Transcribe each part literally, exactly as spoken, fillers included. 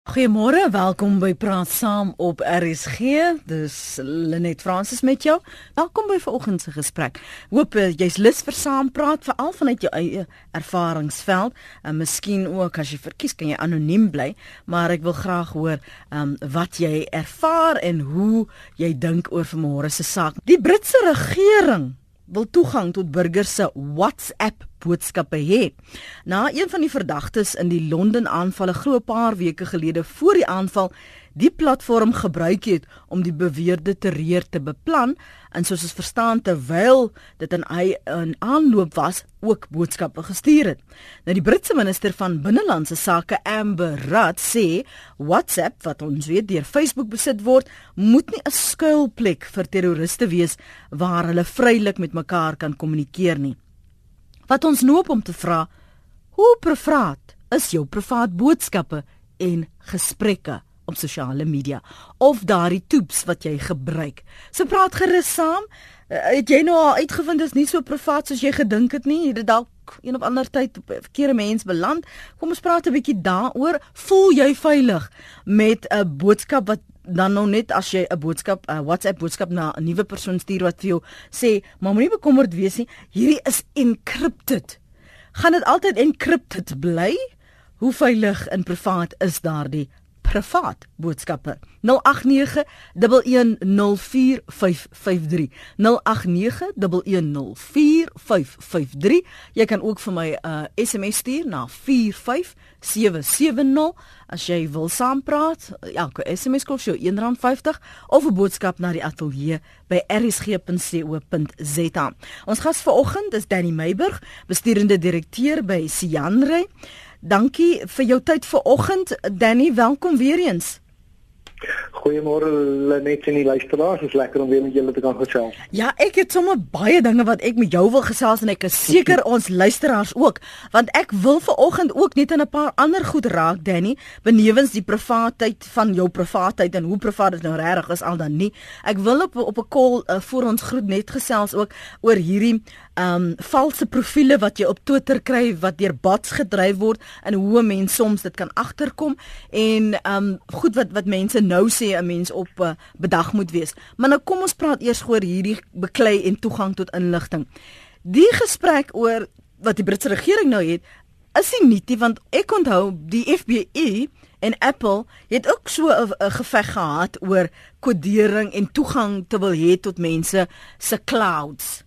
Goeiemôre, welkom by Praat Saam op R S G. Dis Lenet Fransis met jou. Welkom by vanoggend se gesprek. Hoop uh, jy's lus vir saampraat, veral vanuit jou eie ervaringsveld. En miskien ook as jy verkies kan jy anoniem bly, maar ek wil graag hoor um, wat jy ervaar en hoe jy dink oor vanmôre se saak. Die Britse regering wil toegang tot burgers se WhatsApp boodskappe hê. Na een van die verdagtes in die Londen aanval 'n groot paar weke gelede voor die aanval die platform gebruik het om die beweerde terreur te beplan en soos ons verstaan terwyl dit in hy in aanloop was ook boodskappe gestuur het. Nou die Britse minister van Binnelandse Sake Amber Rudd sê WhatsApp wat ons weet deur Facebook besit word moet nie 'n skuilplek vir terroriste wees waar hulle vrylik met mekaar kan kommunikeer nie. Wat ons noop om te vra, hoe privaat is jou privaat boodskappe en gesprekke op sosiale media of daardie toeps wat jy gebruik. So praat gerus saam. Uh, het jy nou al uitgevind dis nie so privaat soos jy gedink het nie? Het dit dalk een of ander tyd op 'n verkeerde mens beland? Kom ons praat 'n bietjie daaroor. Voel jy veilig met 'n boodskap wat dan nou net as jy 'n boodskap, 'n WhatsApp boodskap na 'n nuwe persoon stuur wat vir jou sê, maar moenie bekommerd wees nie, hierdie is encrypted. Gaan dit altyd encrypted bly? Hoe veilig en privaat is daardie privaat boodskappe? nul agt nege, een een nul vier vyf vyf drie nul agt nege, een een nul vier vyf vyf drie. Jy kan ook vir my 'n uh, S M S stuur na vier vyf sewe sewe nul as jy wil saampraat. Elke S M S kos jou een rand vyftig of 'n boodskap na die ateljee by r s g punt co punt z a. Ons gas vanoggend is Danny Meiburg, bestuurende direkteur by Sianray. Dankie vir jou tyd vanoggend, Danny. Welkom weer eens. Goeiemôre Lenet en die luisteraars. Dit is lekker om weer met julle te kan gesels. Ja, ek het sommer baie dinge wat ek met jou wil gesels en ek is seker ons luisteraars ook, want ek wil vanoggend ook net in 'n paar ander goed raak, Danny, benewens die privaatheid van jou privaatheid en hoe privaat dit nou regtig is al dan nie. Ek wil op op 'n call uh, voor ons groet net gesels ook oor hierdie um valse profile wat jy op Twitter kry wat deur bots gedryf word en hoe 'n mens soms dit kan agterkom en um goed wat wat mense nou sê 'n mens op uh, bedag moet wees. Maar nou kom ons praat eers oor hierdie beklei en toegang tot inligting. Die gesprek oor wat die Britse regering nou het, is nie nuut nie, want ek onthou die F B I en Apple het ook so 'n geveg gehad oor kodering en toegang te wil hê tot mense se clouds.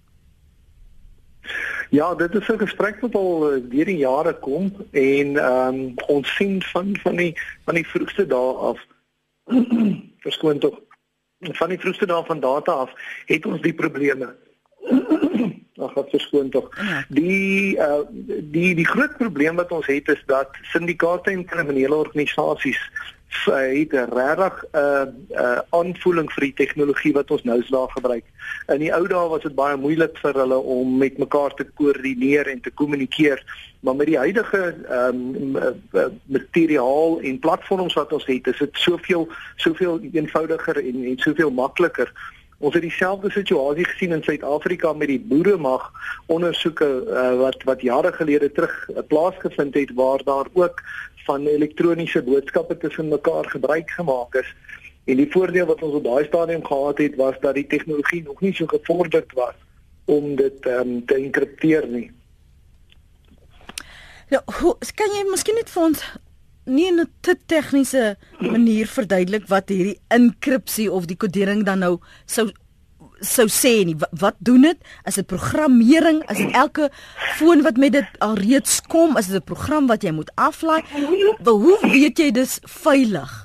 Ja, dit is 'n gesprek wat al uh, deur die jare kom en um, ons sien van van die van die vroegste dae af verskoon tog van die vroegste dae van data af het ons die probleme. Ag, wat verskoon tog. Die uh, die die groot probleem wat ons het is dat syndikaate en kriminele organisasies het 'n regtig 'n uh, uh, aanvoeling vir die tegnologie wat ons nou daar gebruik. In die ou dae was dit baie moeilik vir hulle om met mekaar te koördineer en te kommunikeer, maar met die huidige um, uh, materiaal en platforms wat ons het, is dit soveel soveel eenvoudiger en en soveel makliker. Ons het dieselfde situasie gesien in Suid-Afrika met die boeremag ondersoeke uh, wat wat jare gelede terug uh, plaasgevind het waar daar ook van elektroniese boodskappe tussen mekaar gebruik gemaak is. En die voordeel wat ons op daai stadium gehad het was dat die tegnologie nog nie so gevorderd was om dit um, te enkripteer nie. Nou, hoe, kan jy miskien net vir ons nie in 'n te tegniese manier verduidelik wat hierdie enkripsie of die kodering dan nou sou sou sê nie? Wat, wat doen dit? Is dit programmering? Is dit elke foon wat met dit alreeds kom? Is dit 'n program wat jy moet aflaai? Hoe weet jy dis veilig?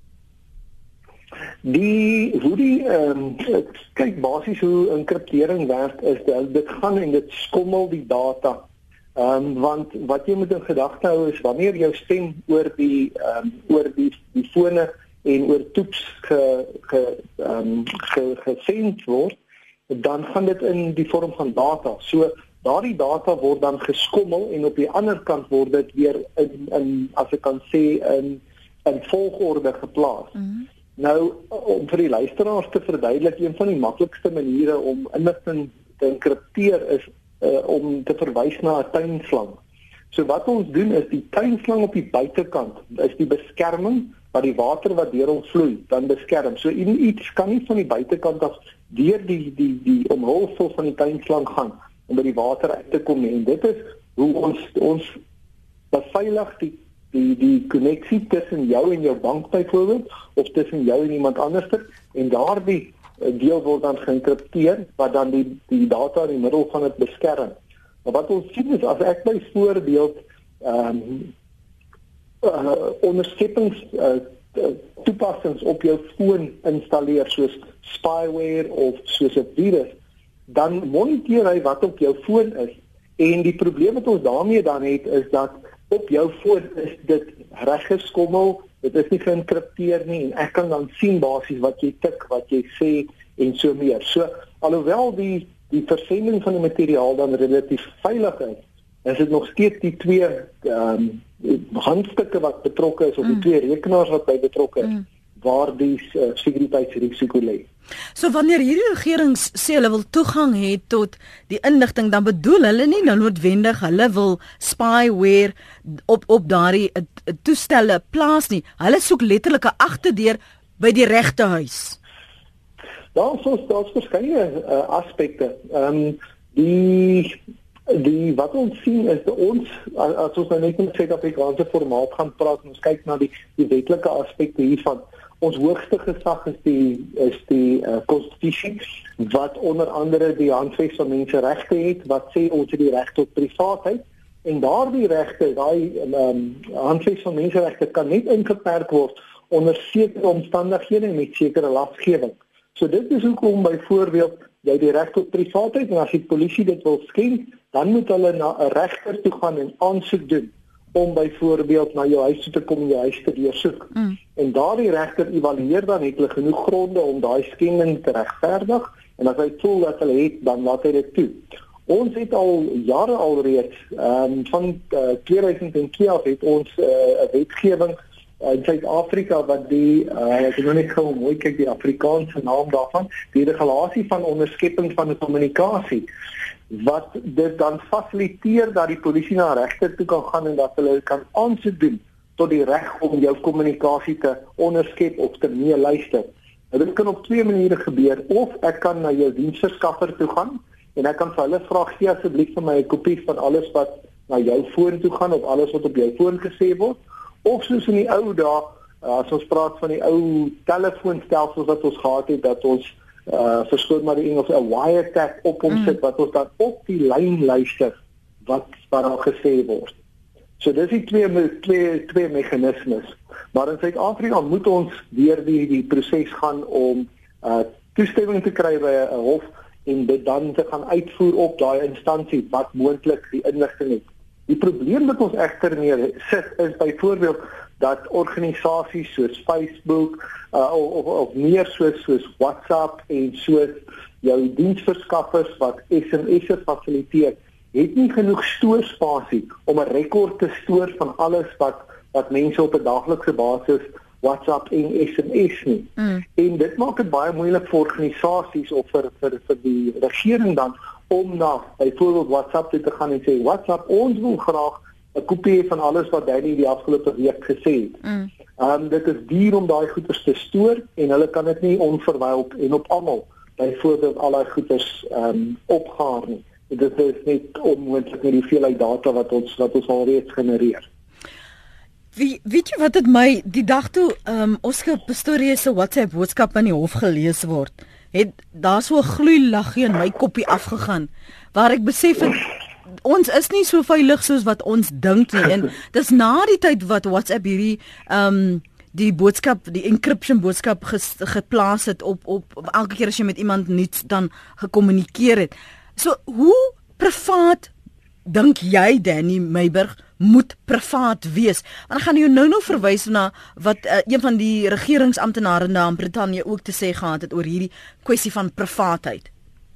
Die hoe die ehm um, kyk basies hoe enkriptering werk is dat dit gaan en dit skommel die data. Ehm um, want wat jy moet in gedagte hou is wanneer jou stem oor die ehm um, oor die die fone en oor toeps ge ge ehm um, ge, gesend word, dan gaan dit in die vorm van data. So daardie data word dan geskommel en op die ander kant word dit weer in in as ek kan sê in in volgorde geplaas. Mm-hmm. Nou om vir die luisteraars te verduidelik, een van die maklikste maniere om inligting te enkripteer is uh, om te verwys na 'n tuinslang. So wat ons doen is die tuinslang op die buitekant is die beskerming wat die water wat deur hom vloei dan beskerm. So iets kan nie van die buitekant af deur die die die omhulsel van die tuinslang gaan om by die water uit te kom nie. En dit is hoe ons ons beveilig die die die koneksie tussen jou en jou bank byvoorbeeld of tussen jou en iemand anderster en daardie deel word dan geïnkripteer wat dan die die data in die middel van dit beskerm. Maar wat ons sien is as ek byvoorbeeld ehm um, uh, onderskeppings uh, toepassings op jou foon installeer soos spyware of soos 'n virus, dan moniteer hy wat op jou foon is. En die probleem wat ons daarmee dan het is dat op jou foon is dit reggeskommel, dit is nie geïnkripteer nie en ek kan dan sien basies wat jy tik, wat jy sê en so meer. So alhoewel die die versending van die materiaal dan relatief veilig is, is dit nog steeds die twee ehm um, handstukke wat betrokke is of die mm. twee rekenaars wat by betrokke is mm. waar die uh, sekuriteitsrisiko lê. So wanneer hierdie regerings sê hulle wil toegang hê tot die inligting, dan bedoel hulle nie nou noodwendig hulle wil spyware op op daardie uh, toestelle plaas nie. Hulle soek letterlik 'n agterdeur by die regte huis. Daar is daar's verskeie uh, aspekte. Ehm um, die die wat ons sien is dat ons as ons nou net in Suid-Afrikaanse formaat gaan praat en ons kyk na die die wetlike aspekte hiervan. Ons hoogste gesag is die is die konstitusie uh, wat onder andere die handves van menseregte het wat sê ons het die reg tot privaatheid en daardie regte, daai um, handves van menseregte kan net ingeperk word onder sekere omstandighede en met sekere lasgewing. So dit is hoekom byvoorbeeld jy die reg tot privaatheid en as die polisie dit wil skend, dan moet hulle na 'n regter toe gaan en aansoek doen om byvoorbeeld na jou huis toe te kom en jou huis te deursoek. Mm. En daardie regter evalueer dan het hulle genoeg gronde om daai skending te regverdig en as hy voel dat hulle het, dan laat hy dit toe. Ons het al jare alreeds um, van uh, tweeduisend twee af het ons 'n uh, wetgewing in Suid-Afrika wat die uh, ek het nog net gou mooi kyk die Afrikaanse naam daarvan, die regulasie van onderskepping van die kommunikasie wat dit dan fasiliteer dat die polisie na 'n regter toe kan gaan en dat hulle kan aansoek doen tot die reg om jou kommunikasie te onderskep of te meeluister. Nou, dit kan op twee maniere gebeur, of ek kan na jou diensverskaffer toe gaan en ek kan vir hulle vra gee asseblief vir my 'n kopie van alles wat na jou foon toe gaan of alles wat op jou foon gesê word. Of soos in die ou dae, as ons praat van die ou telefoonstelsels wat ons gehad het, dat ons uh, verskoon maar die Engels 'n wiretap op hom sit, wat ons dan op die lyn luister wat wat daar gesê word. So dis die twee twee twee meganismes. Maar in Suid-Afrika moet ons deur die die proses gaan om uh, toestemming te kry by 'n hof en dit dan te gaan uitvoer op daai instansie wat moontlik die inligting het. Die probleem wat ons egter mee sit is byvoorbeeld dat organisasies soos Facebook uh, of, of meer soos soos WhatsApp en soos jou diensverskaffers wat S M S'e fasiliteer, het nie genoeg stoorspasie om 'n rekord te stoor van alles wat wat mense op 'n daaglikse basis WhatsApp en S M S nie. Mm. En dit maak dit baie moeilik vir organisasies of vir vir vir die regering dan om na byvoorbeeld WhatsApp toe te gaan en sê WhatsApp, ons wil graag 'n kopie van alles wat jy die afgelope week gesê het. Mm. Um, dit is duur om daai goeders te stoor en hulle kan dit nie onverwyld en op almal byvoorbeeld al daai goeders um, opgaar nie. Dit is net onmoontlik met die veelheid data wat ons wat ons alreeds genereer. Wie weet jy wat dit my die dag toe um, Oscar Pistorius se WhatsApp boodskap aan die hof gelees word, het daar so 'n gloeilaggie in my koppie afgegaan waar ek besef het ons is nie so veilig soos wat ons dink nie en dis na die tyd wat WhatsApp hierdie um, die boodskap, die encryption boodskap ges, geplaas het op op elke keer as jy met iemand nuuts dan gekommunikeer het. So hoe privaat dink jy Danny Meiburg moet privaat wees? Want ek gaan jou nou nou verwys na wat uh, een van die regeringsamptenare na in Brittanje ook te sê gehad het oor hierdie kwessie van privaatheid.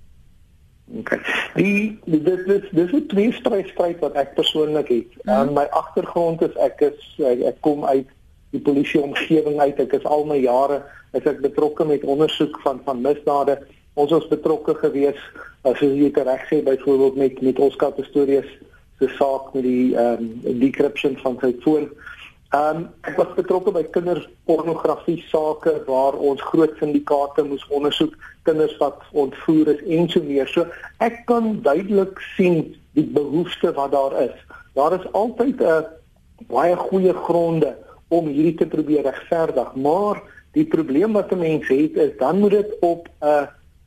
Okay. Die dit is dis 'n tweestryd wat ek persoonlik het. Aan mm. my agtergrond is ek is ek, ek kom uit die polisie omgewing uit. Ek is al my jare is ek betrokke met ondersoek van van misdade. Ons was betrokke gewees as jy dit reg sê byvoorbeeld met met Oscar Pistorius se saak met die ehm um, decryption van sy foon. Ehm um, ek was betrokke by kinderpornografie sake waar ons groot syndikaate moes ondersoek, kinders wat ontvoer is en so meer. So ek kan duidelik sien die behoefte wat daar is. Daar is altyd 'n uh, baie goeie gronde om hierdie te probeer regverdig, maar die probleem wat 'n mens het is dan moet dit op 'n uh,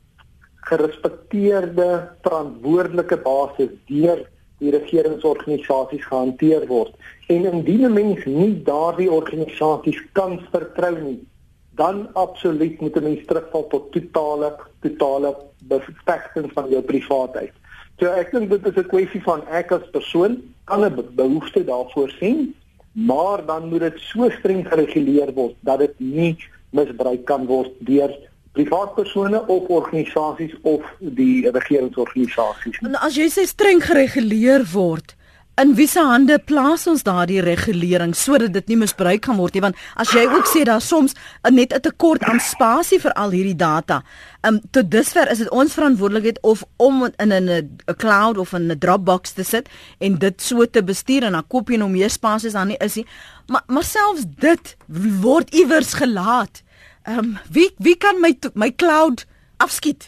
gerespekteerde, verantwoordelike basis deur die regeringsorganisasies gehanteer word. En indien 'n mens nie daardie organisasies kan vertrou nie, dan absoluut moet 'n mens terugval tot totale totale bevestiging van jou privaatheid. So ek dink dit is 'n kwessie van ek as persoon kan 'n behoefte daarvoor sien, maar dan moet dit so streng gereguleer word dat dit nie misbruik kan word deur privaatpersone of organisasies of die regeringsorganisasies. En as jy sê streng gereguleer word, in wie se hande plaas ons daardie regulering sodat dit nie misbruik kan word nie? Want as jy ook sê daar soms net 'n tekort aan spasie vir al hierdie data. Um tot dusver is dit ons verantwoordelikheid of om in 'n 'n cloud of in 'n Dropbox te sit en dit so te bestuur en dan koop jy nou meer spasie as daar nie is nie. Maar maar selfs dit word iewers gelaat. Um wie wie kan my my cloud afskiet?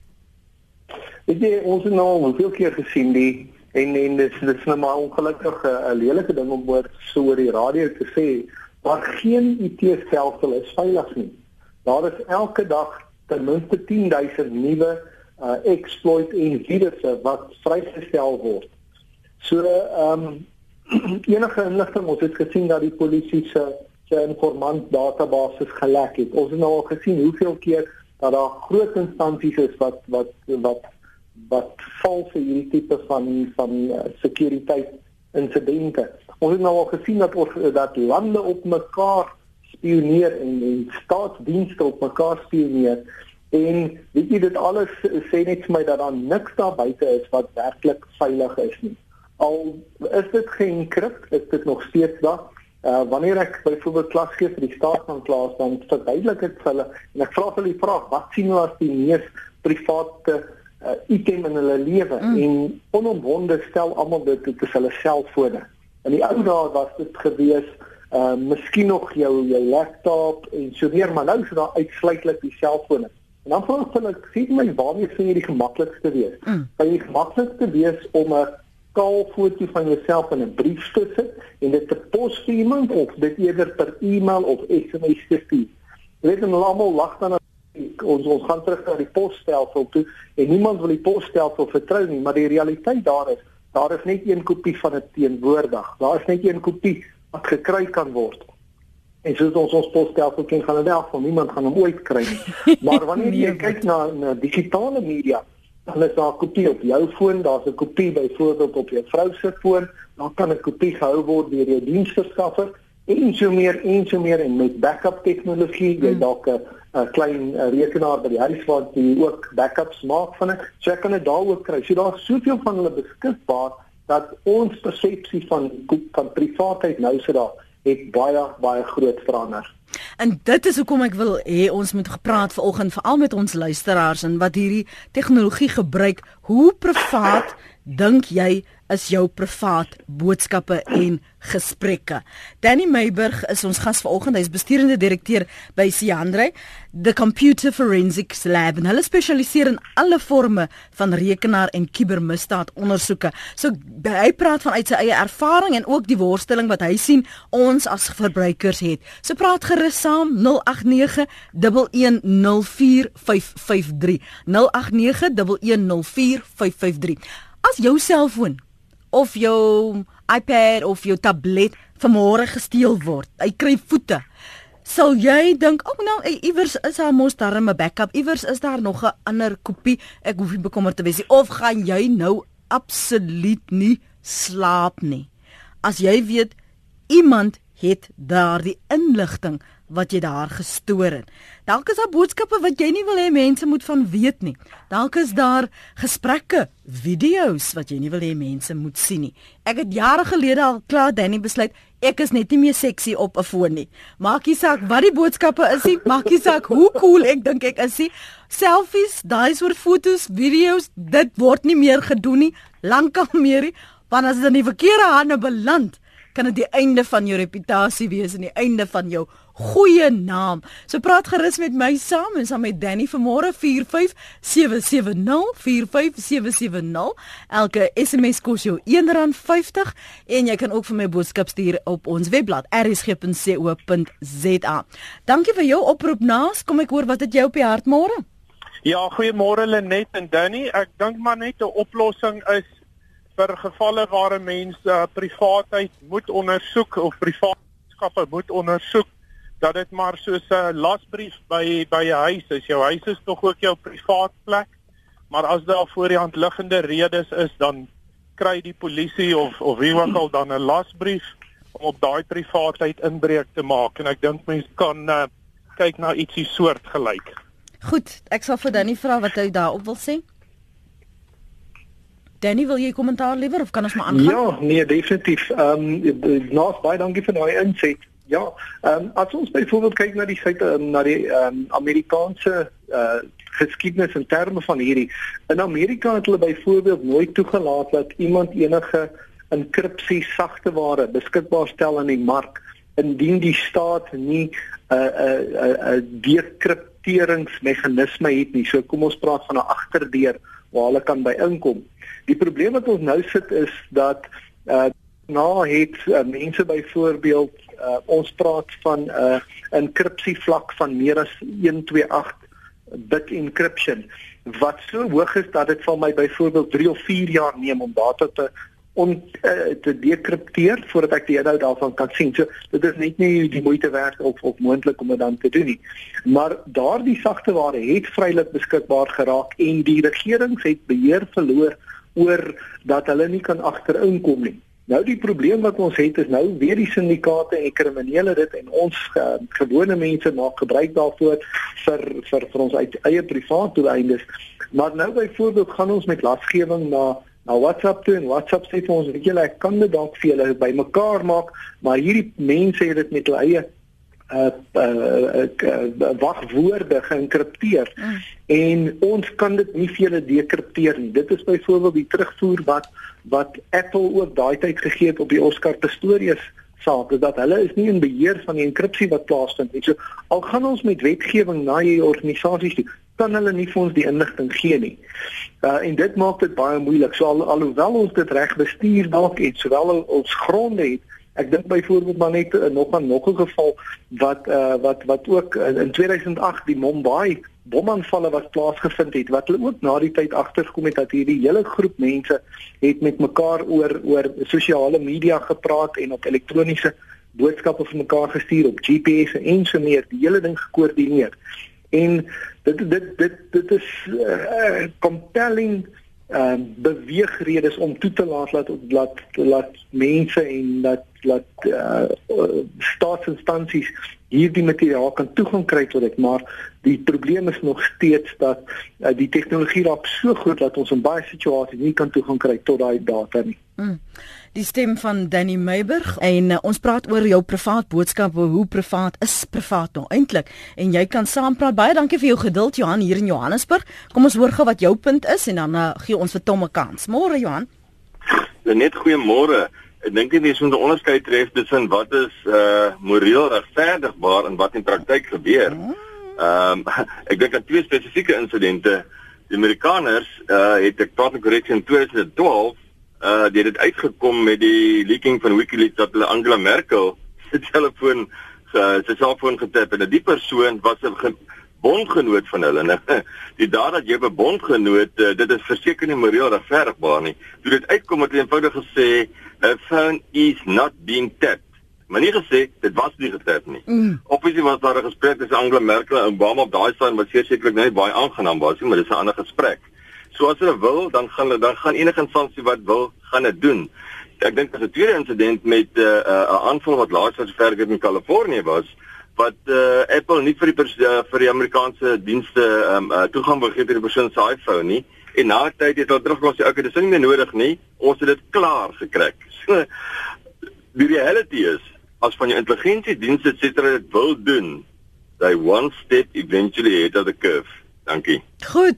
Weet jy, ons het nou al hoeveel keer gesien die En en dit is, is nou maar ongelukkig 'n lelike ding om oor so oor die radio te sê, maar geen I T-stelsel is veilig nie. Daar is elke dag ten minste tien duisend nuwe uh, exploit en virusse wat vrygestel word. So ehm um, enige inligting, ons het gesien dat die polisie se se informant databasis gelek het. Ons het nou al gesien hoeveel keer dat daar groot instansies is wat wat wat wat val vir hierdie tipe van van uh, sekuriteit insidente. Ons het nou al gesien dat ons dat lande op mekaar spioneer en, en staatsdienste op mekaar spioneer en weet jy dit alles sê net vir my dat daar niks daar buite is wat werklik veilig is nie. Al is dit geenkrypt, is dit nog steeds daar. Uh, wanneer ek byvoorbeeld klas gee vir die staat van klas, dan verduidelik ek vir hulle en ek vra hulle die vraag, wat sien hulle as die mees private uh, item in hulle lewe mm. en onomwonde stel almal dit dit is hulle selfone. In die ou dae was dit gewees uh, miskien nog jou jou laptop en so meer, maar nou is dit daar uitsluitlik die selfone. En dan vra ek hulle, sê my waarmee sê jy die gemaklikste wees? Mm. Kan jy die gemaklikste wees om 'n kaal foto van jouself in 'n brief te sit en dit te pos vir iemand of dit eerder per e-mail of S M S te stuur? Jy weet, hulle almal lag dan ons ons gaan terug na die posstelsel toe en niemand wil die posstelsel vertrou nie, maar die realiteit daar is, daar is net een kopie van dit teenwoordig. Daar is net een kopie wat gekry kan word. En soos ons ons posstelsel ken, gaan dit wel van niemand gaan hom ooit kry nie. Maar wanneer jy kyk na, na digitale media, dan is daar 'n kopie op jou foon, daar's 'n kopie byvoorbeeld op jou vrou se foon, dan kan 'n kopie gehou word deur jou diensverskaffer en so meer en so meer en met backup tegnologie, jy dalk 'n 'n klein a, rekenaar by die huis waar jy ook backups maak van dit. So jy kan dit daar ook kry. So daar's soveel van hulle beskikbaar dat ons persepsie van van privaatheid nou so daar het baie baie groot verander. En dit is hoekom ek wil hê ons moet gepraat vanoggend veral met ons luisteraars en wat hierdie tegnologie gebruik. Hoe privaat dink jy is jou privaat boodskappe en gesprekke? Danny Meiburg is ons gas vanoggend. Hy is besturende direkteur by Siandre, the Computer Forensics Lab. En hulle spesialiseer in alle forme van rekenaar en kubermisdaad ondersoeke. So hy praat vanuit sy eie ervaring en ook die worsteling wat hy sien ons as verbruikers het. So praat gerus saam nul agt nege, een een nul vier, vyf vyf drie. nul agt nege, een een nul vier, vyf vyf drie. As jou selfoon of jou iPad of jou tablet vanmôre gesteel word, hy kry voete, sal jy dink, "Ag oh, nou, iewers is daar mos daar 'n backup, iewers is daar nog 'n ander kopie, ek hoef nie bekommerd te wees nie," of gaan jy nou absoluut nie slaap nie? As jy weet iemand het daardie inligting wat jy daar gestoor het. Dalk is daar boodskappe wat jy nie wil hê mense moet van weet nie. Dalk is daar gesprekke, video's wat jy nie wil hê mense moet sien nie. Ek het jare gelede al klaar Danny besluit, ek is net nie meer seksie op 'n foon nie. Maak nie saak wat die boodskappe is nie, maak nie saak hoe cool ek dink ek is nie. Selfies, daai soort foto's, video's, dit word nie meer gedoen nie, lankal meer nie. Want as dit in die verkeerde hande beland, kan dit die einde van jou reputasie wees en die einde van jou goeie naam. So praat gerus met my saam en saam met Danny vanmôre vier vyf sewe sewe nul vier vyf sewe sewe nul. Elke S M S kos jou een rand vyftig en jy kan ook vir my boodskap stuur op ons webblad r s g punt co punt z a. Dankie vir jou oproep Naas. Kom ek hoor wat het jy op die hart môre? Ja, goeiemôre Lenet en Danny. Ek dink maar net 'n oplossing is vir gevalle waar 'n mens uh, privaatheid moet ondersoek of privaatskappe moet ondersoek, dat dit maar soos 'n lasbrief by by 'n huis is. Jou huis is tog ook jou privaat plek, maar as daar voor die hand liggende redes is, dan kry die polisie of of wie ook al dan 'n lasbrief om op daai privaatheid inbreuk te maak. En ek dink mense kan uh, kyk na ietsie soortgelyk. Goed, ek sal vir Danny vra wat hy daarop wil sê. Danny, wil jy kommentaar liewer of kan ons maar aangaan? Ja, nee, definitief. Ehm um, Naas, baie dankie vir daai inset. Ja, ehm um, as ons byvoorbeeld kyk na die feite um, na die ehm um, Amerikaanse uh, geskiedenis in terme van hierdie. In Amerika het hulle byvoorbeeld nooit toegelaat dat iemand enige enkripsie sagteware beskikbaar stel in die mark indien die staat nie 'n 'n 'n dekripteringsmeganisme het nie. So kom ons praat van 'n agterdeur waar hulle kan by inkom. Die probleem wat ons nou sit is dat uh, nou het uh, mense byvoorbeeld uh, ons praat van 'n uh, enkripsie vlak van meer as een twee agt bit encryption wat so hoog is dat dit vir my byvoorbeeld drie of vier jaar neem om data te om uh, te dekripteer voordat ek die inhoud daarvan kan sien. So dit is net nie die moeite werd of of moontlik om dit dan te doen nie. Maar daardie sagteware het vrylik beskikbaar geraak en die regering het beheer verloor oor dat hulle nie kan agterinkom nie. Nou die probleem wat ons het is nou weer die syndikaate en kriminele dit en ons uh, gewone mense maak gebruik daarvoor vir vir vir ons eie privaat doeleindes. Maar nou byvoorbeeld gaan ons met lasgewing na na WhatsApp toe en WhatsApp sê vir ons, weet julle, ek kan dit dalk vir julle bymekaar maak, maar hierdie mense het dit met hulle eie uh, uh, uh, wagwoorde geënkripteer mm. en ons kan dit nie vir julle dekripteer nie. Dit is byvoorbeeld die terugvoer wat wat Apple ook daai tyd gegee het op die Oscar Pistorius saak, is dat hulle is nie in beheer van die enkripsie wat plaasvind nie. So al gaan ons met wetgewing na hierdie organisasies toe, kan hulle nie vir ons die inligting gee nie. Uh, en dit maak dit baie moeilik. So al, alhoewel ons dit reg bestuur dalk het, sowel ons gronde het, ek dink byvoorbeeld maar net uh, nog 'n nog 'n geval wat uh, wat wat ook uh, in tweeduisend agt die Mumbai bomaanvalle wat plaasgevind het, wat hulle ook na die tyd agtergekom het dat hierdie hele groep mense het met mekaar oor oor sosiale media gepraat en op elektroniese boodskappe vir mekaar gestuur op G P S en so meer, die hele ding gekoördineer. En dit dit dit dit is uh, compelling uh, beweegredes om toe te laat laat laat laat mense en laat laat uh, staatsinstansies hierdie materiaal kan toegang kry tot dit, maar die probleem is nog steeds dat uh, die tegnologie raak so groot dat ons in baie situasies nie kan toegang kry tot daai data nie. Mm. Die stem van Danny Meiburg en uh, ons praat oor jou privaat boodskappe, hoe privaat is privaat nou eintlik, en jy kan saampraat. Baie dankie vir jou geduld Johan hier in Johannesburg. Kom ons hoor gou wat jou punt is en dan uh, gee ons vir Tom 'n kans. Môre Johan. Net goeiemôre. Ek dink jy moet 'n onderskeid tref tussen wat is uh moreel regverdigbaar en wat in praktyk gebeur. Ehm um, ek dink aan twee spesifieke insidente. Die Amerikaners uh het ek praat korrek in tweeduisend twaalf uh dit het uitgekom met die leaking van WikiLeaks dat hulle Angela Merkel se telefoon se selfoon getap en die persoon was 'n bondgenoot van hulle. En die daad dat jy 'n bondgenoot, uh, dit is verseker nie moreel regverdigbaar nie. Toe dit uitkom het hulle eenvoudig gesê a phone is not being tapped. Maar nie gesê, dit was nie getap nie. Mm. Obviously was daar 'n gesprek tussen Angela Merkel en Obama op daai stadium wat sekerlik nie baie aangenaam was nie, maar dis 'n ander gesprek. So as hulle wil, dan gaan hulle dan gaan enige instansie wat wil, gaan dit doen. Ek dink as 'n tweede insident met 'n uh, 'n uh, aanval wat laas was ver in Kalifornië was, wat uh, Apple nie vir die uh, vir die Amerikaanse dienste um, uh, toegang gegee het tot die persoon se iPhone nie. En na tyd het hulle teruggekom sê, okay, dis nie meer nodig nie. Ons het dit klaar gekry. So die reality is, as van jou intelligensiedienste et cetera dit wil doen, they one step eventually ahead of the curve. Dankie. Goed.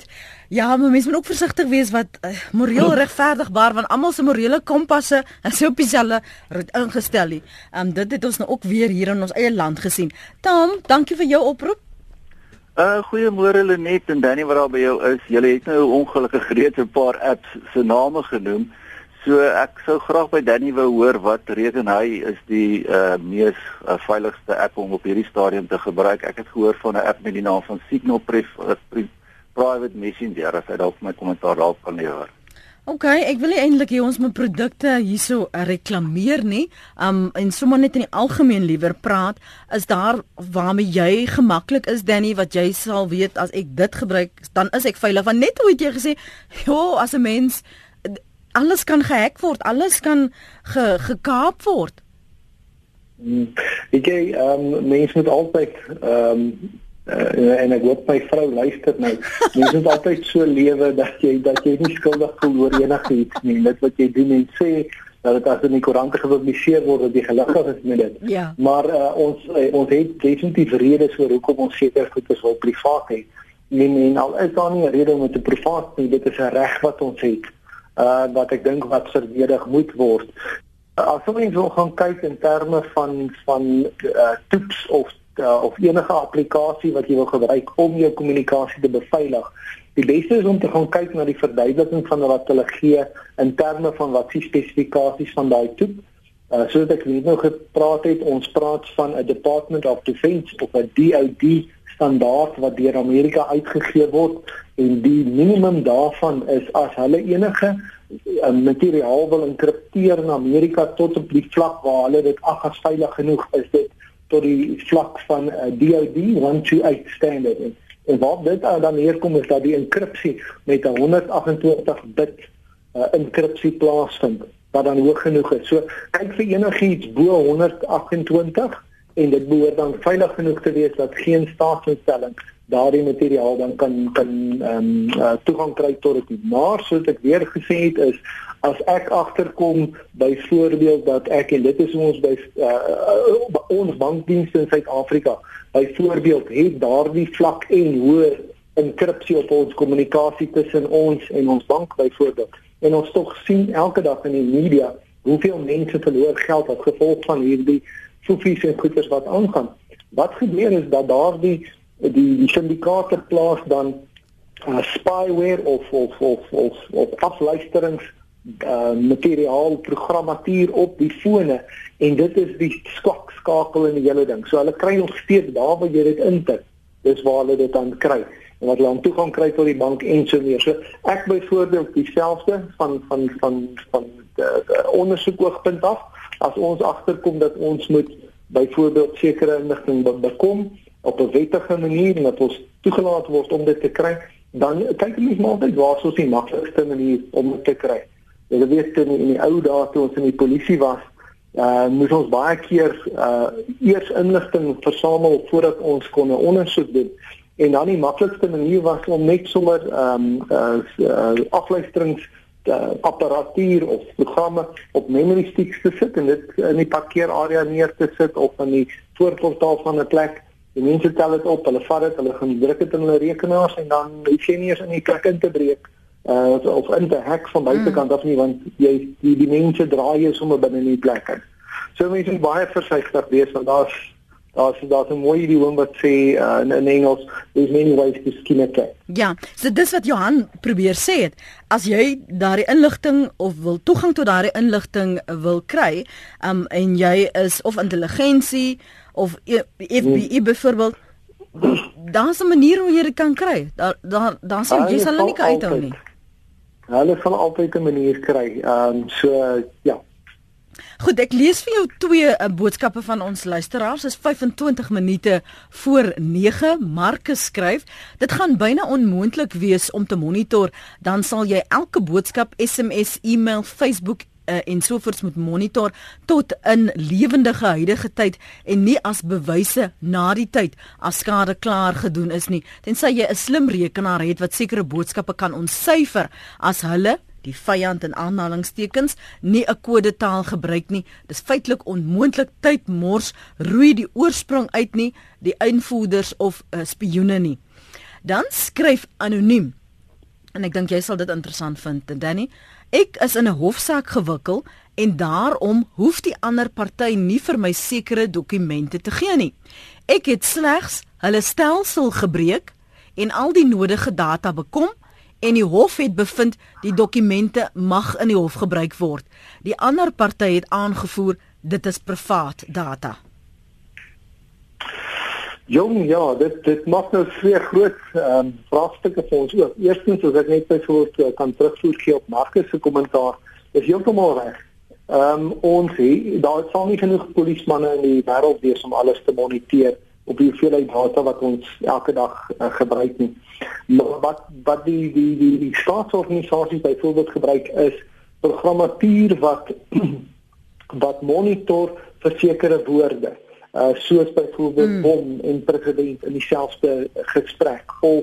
Ja, maar mense moet ook versigtig wees wat uh, moreel regverdigbaar, want almal se morele kompasse is op dieselfde roet ingestel nie. Um, dit het ons nou ook weer hier in ons eie land gesien. Tom, dankie vir jou oproep. Uh, goeiemôre Lenet en Danny wat daar by jou is. Julle het nou ongelukkig reeds 'n paar apps se name genoem. So ek sou graag by Danny wou hoor wat reken hy is die uh, mees uh, veiligste app om op hierdie stadium te gebruik. Ek het gehoor van 'n app met die naam van Signal Pref, uh, Pre Private Messenger, as hy dalk my kommentaar daarop kan lewer. OK, ek wil nie eintlik hê ons moet produkte hierso reklameer nie. Um en sommer net in die algemeen liewer praat, is daar waarmee jy gemaklik is, Danny, wat jy sal weet as ek dit gebruik, dan is ek veilig. Want net hoe het jy gesê, "Jo, as 'n mens alles kan gehack word, alles kan ge, gekaap word." Hmm. Ek jy, um, mense moet altyd um, uh, en ek hoop my vrou luister nou. Mense moet altyd so lewe dat jy dat jy nie skuldig voel oor enigiets nie. Dit wat jy doen en sê dat dit as in die koerante gepubliseer word dat jy gelukkig is met dit. Ja. Maar uh, ons uh, ons het definitief redes vir hoekom ons seker goedes wil privaat hê. En, en al is daar nie 'n rede om dit te privaat nie, dit is 'n reg wat ons het. Uh, wat ek dink wat verdedig moet word. Uh, as ons wil gaan kyk in terme van van uh, toeps of uh, of enige applikasie wat jy wil gebruik om jou kommunikasie te beveilig, die beste is om te gaan kyk na die verduideliking van wat hulle gee in terme van wat die spesifikasies van daai toep. Uh, soos ek net nou gepraat het, ons praat van 'n Department of Defense of 'n D O D standaard wat deur Amerika uitgegee word. En die minimum daarvan is as hulle enige uh, materiaal wil enkripteer in Amerika tot op die vlak waar hulle dit ag as veilig genoeg is, dit tot die vlak van uh, D O D one two eight standard. En, en wat dit uh, dan neerkom is dat die enkripsie met 'n honderd agt-en-twintig bit uh, enkripsie plaasvind, wat dan hoog genoeg is. So kyk vir enigiets bo honderd agt-en-twintig en dit behoort dan veilig genoeg te wees dat geen staatsinstelling daardie materiaal dan kan kan ehm um, uh, toegang kry tot dit. Maar soos ek weer gesê het is as ek agterkom byvoorbeeld dat ek en dit is ons by uh, uh, ons bankdienste in Suid-Afrika byvoorbeeld het daardie vlak en hoër enkripsie op ons kommunikasie tussen ons en ons bank byvoorbeeld. En ons tog sien elke dag in die media hoeveel mense verloor geld as gevolg van hierdie sofies en goeders wat aangaan. Wat gebeur is dat daardie die die syndikaate plaas dan uh, spyware of of of of, of afluisterings uh, materiaal programmatuur op die fone en dit is die swak skakel in die hele ding. So hulle kry nog steeds daar waar jy dit intik. Dis waar hulle dit dan kry. En wat hulle aan toegang kry tot die bank en so meer. So ek byvoorbeeld dieselfde van van van van die ondersoek oogpunt af as ons agterkom dat ons moet byvoorbeeld sekere inligting be bekom op 'n wettige manier en dat ons toegelaat word om dit te kry, dan kyk ons maar altyd waar is die maklikste manier om dit te kry. Jy weet in, in die ou dae toe ons in die polisie was, uh, moes ons baie keer uh, eers inligting versamel voordat ons kon 'n ondersoek doen. En dan die maklikste manier was om net sommer um, uh, uh, afluisterings uh, apparatuur of programme op memory sticks te sit en dit in die parkeerarea neer te sit of in die voorportaal van 'n plek. Die mense tel dit op, hulle vat dit, hulle gaan druk dit in hulle rekenaars en dan hoef jy nie eens in die plek in te breek uh, of in te hack van buitekant af nie, want jy die, die mense draai jy sommer binne in die plek in. So mense moet baie versigtig wees want daar's daar's daar's 'n mooi idiom wat sê uh, in, in Engels, there's many ways to skin a cat. Ja, so dis wat Johan probeer sê het. As jy daardie inligting of wil toegang tot daardie inligting wil kry, um, en jy is of intelligensie of F B I hmm. byvoorbeeld, daar's 'n manier hoe jy dit kan kry. Daar daar daar sal jy sal nie kan uithou nie. Hulle sal altyd 'n manier kry. Ehm um, so uh, ja. Goed, ek lees vir jou twee uh, boodskappe van ons luisteraars. Dit is vyf-en-twintig minute voor nege. Marcus skryf: "Dit gaan byna onmoontlik wees om te monitor, dan sal jy elke boodskap, S M S, e-mail, Facebook Uh, en sovoorts moet monitor tot in lewendige huidige tyd en nie as bewyse na die tyd as skade klaar gedoen is nie, tensy jy 'n slim rekenaar het wat sekere boodskappe kan ontsyfer as hulle, die vyand in aanhalingstekens, nie 'n kodetaal gebruik nie. Dis feitelik onmoontlik. Tyd mors, roei die oorsprong uit nie, die invoerders of uh, spioene nie." Dan skryf anoniem: en ek dink jy sal dit interessant vind, Danny. Ek is in 'n hofsaak gewikkel en daarom hoef die ander party nie vir my sekere dokumente te gee nie. Ek het slegs hulle stelsel gebreek en al die nodige data bekom en die hof het bevind die dokumente mag in die hof gebruik word. Die ander party het aangevoer dit is privaat data. Jong, ja, dit dit maak nou twee groot ehm um, vraagstukke vir ons ook. Eerstens, as ek net byvoorbeeld kan terugvoer gee op Marcus se kommentaar, is heeltemal reg. Ehm um, ons het daar sal nie genoeg polismanne in die wêreld wees om alles te moniteer op die hoeveelheid data wat ons elke dag uh, gebruik nie. Maar wat wat die die die, die staatsorganisasies byvoorbeeld gebruik is programmatuur wat wat monitor vir sekere woorde. Uh, soos byvoorbeeld mm. bom en president in dieselfde gesprek of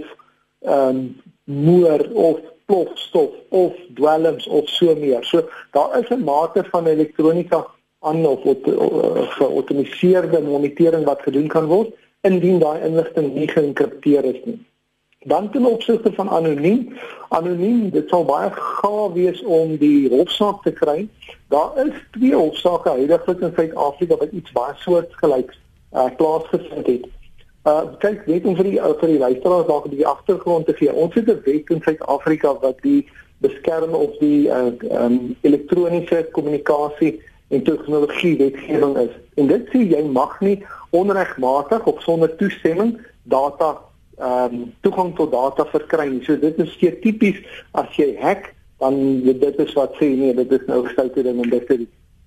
um, moer of plofstof of dwelms of so meer. So daar is 'n mate van elektronika aan of geautomatiseerde monitering wat gedoen kan word indien daai inligting nie geïnkripteer is nie. Dan ten opsigte van anoniem, anoniem, dit sal baie gaaf wees om die hofsaak te kry. Daar is twee hofsaake huidiglik in Suid-Afrika wat iets baie soortgelyks uh, plaasgevind het. Uh, kyk, net om vir die, uh, vir die luisteraars daar die agtergrond te gee. Ons het 'n wet in Suid-Afrika wat die beskerm of die uh, um, elektroniese kommunikasie en tegnologie wetgewing is. En dit sê jy mag nie onregmatig of sonder toestemming data um, toegang tot data verkry nie. So dit is stereotypies as jy hack, dan dit is wat sê nee, dit is nou gestoute ding en dit is.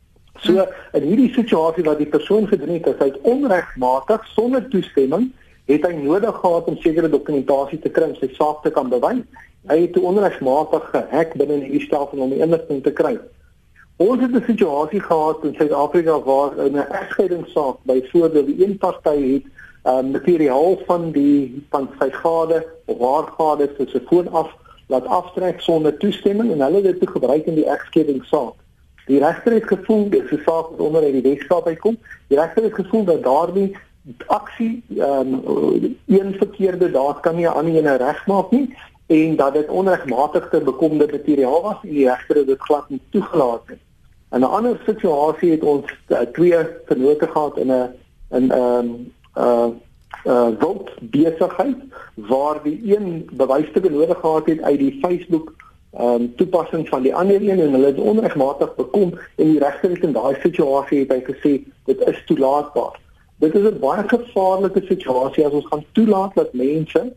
So in hierdie situasie wat die persoon gedoen het, is hy onregmatig sonder toestemming, het hy nodig gehad om sekere dokumentasie te kry om sy saak te kan bewys. Hy het onregmatig gehack binne hierdie stelsel om die inligting te kry. Ons het 'n situasie gehad in Suid-Afrika waar in 'n egskeidingssaak byvoorbeeld die een party het um, materiaal van die van sy gade of haar gade se telefoon af laat aftrek sonder toestemming en hulle het dit gebruik in die egskeidingssaak. Die regter het gevoel dis 'n saak wat onder uit die Weskaap uitkom. Die regter het gevoel dat daardie aksie um, een verkeerde daad kan nie aan die ene regmaak nie en dat dit onregmatig te bekomde materiaal was en die regter het dit glad nie toegelaat nie. In 'n ander situasie het ons uh, twee vennote gehad in 'n in 'n um, uh uh wild besigheid waar die een bewysstukke nodig gehad het uit die Facebook um toepassing van die ander een en hulle het onregmatig bekom en die regter het in daai situasie het hy gesê dit is toelaatbaar. Dit is 'n baie gevaarlike situasie as ons gaan toelaat dat mense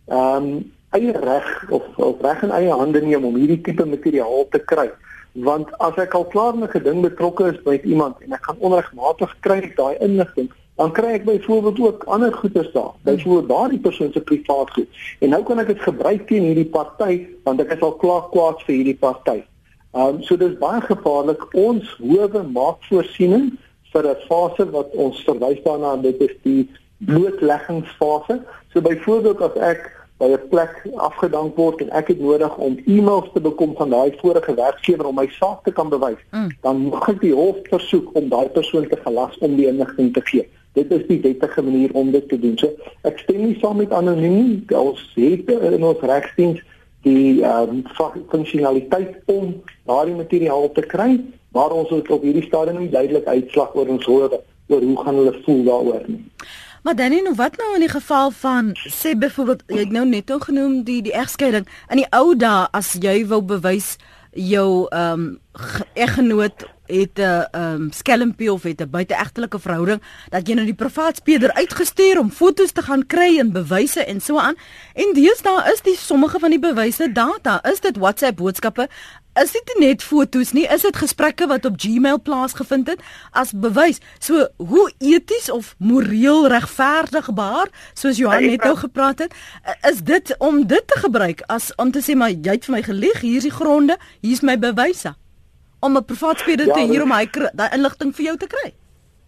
um eie reg of, of reg in eie hande neem om hierdie tipe materiaal te kry. Want as ek al klaar met 'n ding betrokke is by iemand en ek gaan onregmatig kry daai inligting, dan kry ek byvoorbeeld ook ander goederes daar. Byvoorbeeld daardie persoon se privaat goed. En nou kan ek dit gebruik teen hierdie party want ek is al klaar kwaad vir hierdie party. Um so dis baie gevaarlik. Ons howe maak voorsiening vir 'n fase wat ons verwys daarna en dit is die blootleggingsfase. So byvoorbeeld as ek by 'n plek afgedank word en ek het nodig om e-mails te bekom van daai vorige werkgewer om my saak te kan bewys, mm. dan mag ek die hof versoek om daai persoon te gelas om die inligting te gee. Dit is die wettige manier om dit te doen. So ek stem nie saam met anoniem. Ons het in ons regsdiens die um, funksionaliteit om daardie materiaal te kry, maar ons het op hierdie stadium nie duidelik uitslag oor ons hoor oor hoe gaan hulle voel daaroor nie. Maar Danny, nou wat nou in die geval van, sê byvoorbeeld, jy het nou net genoem die die egskeiding. In die ou dae as jy wou bewys jou ehm um, eggenoot het 'n ehm um, skelmpie of het 'n buiteegtelike verhouding, dat jy nou die privaat speurder uitgestuur om foto's te gaan kry en bewyse en so aan. En deesdae is die sommige van die bewyse data. Is dit WhatsApp boodskappe? Is dit net foto's nie? Is dit gesprekke wat op Gmail plaasgevind het as bewys? So hoe eties of moreel regverdigbaar, soos Johan net nou gepraat het, is dit om dit te gebruik as om te sê maar jy het vir my gelieg, hier is die gronde, hier is my bewyse. Om 'n privaat speurder ja, te hier om hy daai inligting vir jou te kry.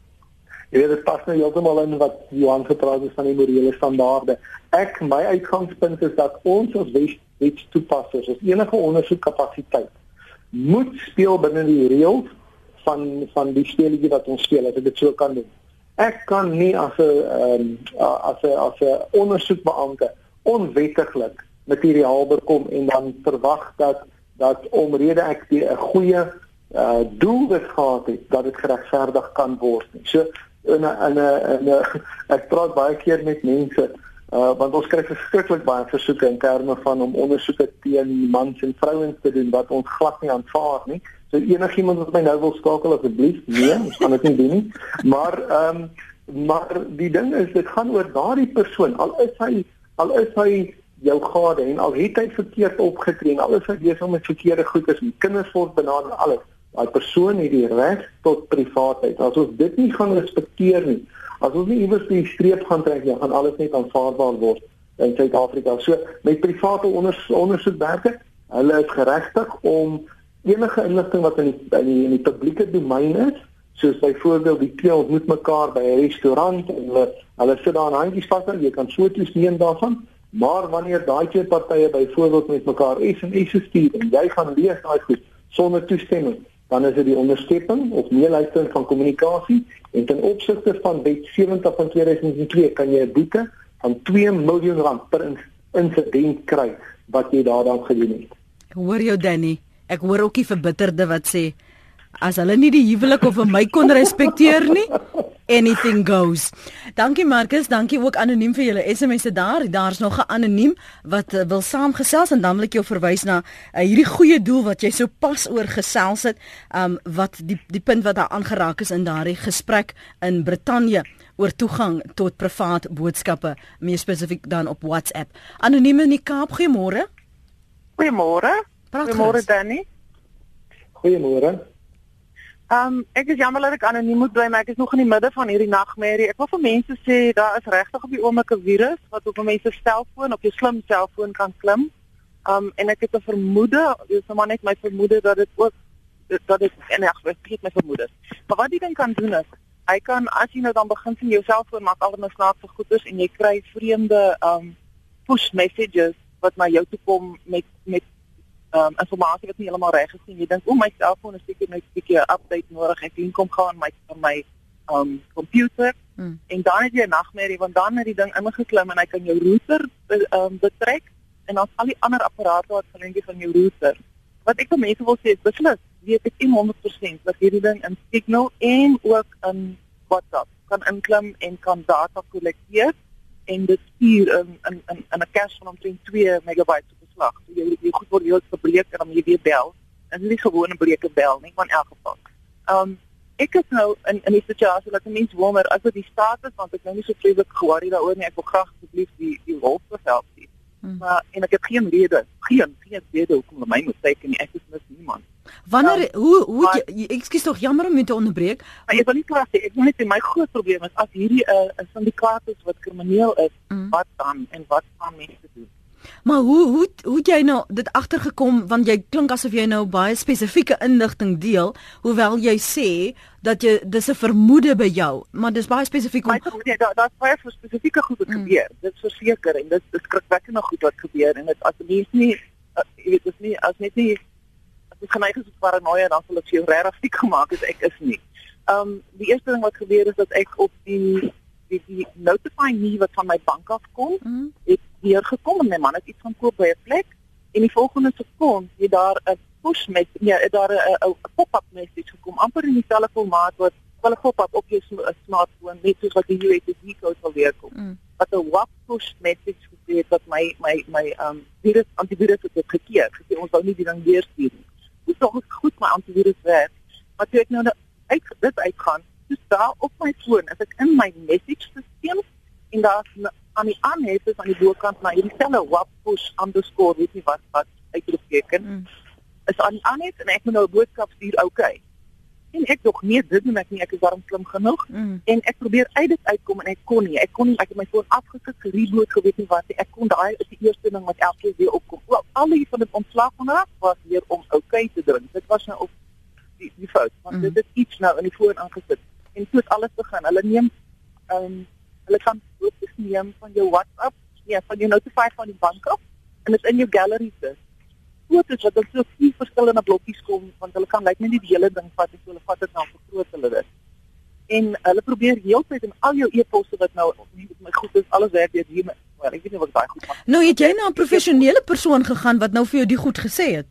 Jy weet dit pas nou heeltemal in wat Johan gepraat het van die morele standaarde. Ek my uitgangspunt is dat ons as wetstoepassers, as enige ondersoekkapasiteit moet speel binne die reëls van van die speletjie wat ons speel, as ek dit so kan doen. Ek kan nie as 'n um, as 'n as 'n ondersoekbeampte onwettiglik materiaal bekom en dan verwag dat dat omrede ek 'n goeie uh, doelwit gehad het, dat dit geregverdig kan word. So in 'n in 'n in 'n ek praat baie keer met mense uh, want ons kry verskriklik baie versoeke in terme van om ondersoeke teen mans en vrouens te doen wat ons glad nie aanvaar nie. So enigiemand wat my nou wil skakel asseblief, nee, ons gaan dit nie doen nie. Maar ehm um, maar die ding is dit gaan oor daardie persoon. Al is hy al is hy jou gade en al het hy verkeerd opgetree en al is hy besig met verkeerde goeders en kinders word benader alles. Daai persoon het die reg tot privaatheid. As ons dit nie gaan respekteer nie, as ons nie iewers die streep gaan trek nie, gaan alles net aanvaarbaar word in Suid-Afrika. So met private onders, ondersoekwerke, hulle is geregtig om enige inligting wat in die in die, in die publieke domein is, soos byvoorbeeld die twee ontmoet mekaar by 'n restaurant en hulle hulle sit daar en handjies vas en jy kan foto's neem daarvan, maar wanneer daai twee partye byvoorbeeld met mekaar S M S stuur en jy gaan lees daai goed sonder toestemming, dan is dit die onderskepping of meeluistering van kommunikasie en ten opsigte van Wet sewentig van twee duisend twee kan jy 'n boete van twee miljoen rand per insident kry wat jy daaraan gedoen het. Hoor jou Danny, ek hoor ook die verbitterde wat sê as hulle nie die huwelik of my kon respekteer nie, anything goes. Dankie Marcus, dankie ook anoniem vir julle S M S'e daar. Daar's nog 'n anoniem wat uh, wil saamgesels en dan wil ek jou verwys na uh, hierdie goeie doel wat jy so pas oor gesels het, um, wat die die punt wat daar aangeraak is in daardie gesprek in Brittanje oor toegang tot privaat boodskappe, meer spesifiek dan op WhatsApp. Anoniem in die Kaap, goeiemôre. Goeiemôre. Goeiemôre Danny. Goeiemôre. Um, ek is jammer dat ek anoniem moet bly, maar ek is nog in die midde van hierdie nagmerrie. Ek wil vir mense sê daar is regtig op die oomblik 'n virus wat op mense se selfoon, op jou slim selfoon kan klim. Um en ek het 'n vermoede, dis nou maar net my vermoede dat dit ook dat dit en ek weet my vermoede. Maar wat die ding kan doen is, hy kan as jy nou dan begin sien jou selfoon maak allerlei snaakse goeders en jy kry vreemde um push messages wat na jou toe kom met met um informasie wat nie heeltemal reg is nie. Jy dink, "O, my selfoon is seker net 'n bietjie 'n update nodig." Ek dink kom gaan my van my um komputer hmm. en dan het jy 'n nagmerrie want dan het die ding ingeklim en hy kan jou router um betrek en dan al die ander apparate wat verlenging van jou router. Wat ek vir mense wil sê is beslis, weet ek honderd persent dat hierdie ding in Signal en ook in WhatsApp kan inklim en kan data kollekteer en dit stuur in in in 'n cache van omtrent twee megabyte op beslag. So jy jy goed word jy verbreek en dan moet jy weer bel. En dit is nie gewone breke bel nie, maar in elk geval. Um ek is nou in in die situasie dat 'n mens wonder as dit die status want ek nou nie so vreeslik ge-worry daaroor nie. Ek wil graag asseblief die die wolf behelp sien. Hmm. Maar en ek het geen rede, geen geen rede hoekom hulle my moet teken nie. Ek is mis niemand. Wanneer um, hoe hoe maar, jy, ek skiet tog jammer om te onderbreek. Maar ek wil nie klaar sê, ek wil net sê my groot probleem is as hierdie 'n uh, 'n syndikaat is wat krimineel is, mm. wat dan en wat gaan mense doen? Maar hoe hoe hoe jy nou dit agtergekom want jy klink asof jy nou baie spesifieke inligting deel, hoewel jy sê dat jy dis 'n vermoede by jou, maar dis baie spesifiek om nee, daar daar's baie spesifieke goed wat mm. gebeur. Dit is verseker en dit is skrikwekkende goed wat gebeur en dit as mense nie uh, jy weet dis nie as net nie ek geneig is tot paranoia dan sal ek jou regtig siek gemaak het ek is nie. Um die eerste ding wat gebeur is dat ek op die die, die notify me wat van my bank af kom, mm. het hier gekom en my man het iets gaan koop by 'n plek en die volgende sekonde het daar 'n push met ja, het daar 'n pop-up message gekom amper in dieselfde formaat wat wel 'n pop-up op jou smartphone net soos wat die U S B code sal weer kom. Mm. Wat 'n WhatsApp push message gegee het wat my my my um virus antivirus het gekeer. Gesê ons wou nie die ding weer stuur nie. Dis nog goed my antivirus werk. Maar toe ek nou uit dit uitgaan, dus daar op my foon, as ek in my message stelsel en daar aan die aanhef is aan die bokant na hierdie selfe WhatsApp push underscore weet nie wat wat uitroepteken. Mm. Is aan die aanhef en ek moet nou 'n boodskap stuur, okay. En ek dog nee, dit doen ek nie, ek is daarom slim genoeg. Mm. En ek probeer uit dit uitkom en ek kon nie. Ek kon nie, ek het my foon afgesit, gereboot, geweet nie wat nie. Ek kon daai is die eerste ding wat elke keer weer opkom. Wel, al die van dit ontslag van raak was weer om okay te druk. Dit was nou op die, die fout, want mm. dit is iets nou in die foon aangesit. En toe het alles begin. Hulle neem um, hulle kan foto's neem van jou WhatsApp, ja, van jou notify van die bank af en dit in jou gallery sit. Foto's wat dan so vier verskillende blokkies kom, want hulle kan lyk net nie die hele ding vat en so hulle vat dit dan vergroot hulle dit. En hulle probeer heeltyd in al jou e-posse wat nou nie met my goed is, alles werk deur wel. Ek weet nie wat daai goed maak. Nou het jy na 'n professionele persoon gegaan wat nou vir jou die goed gesê het?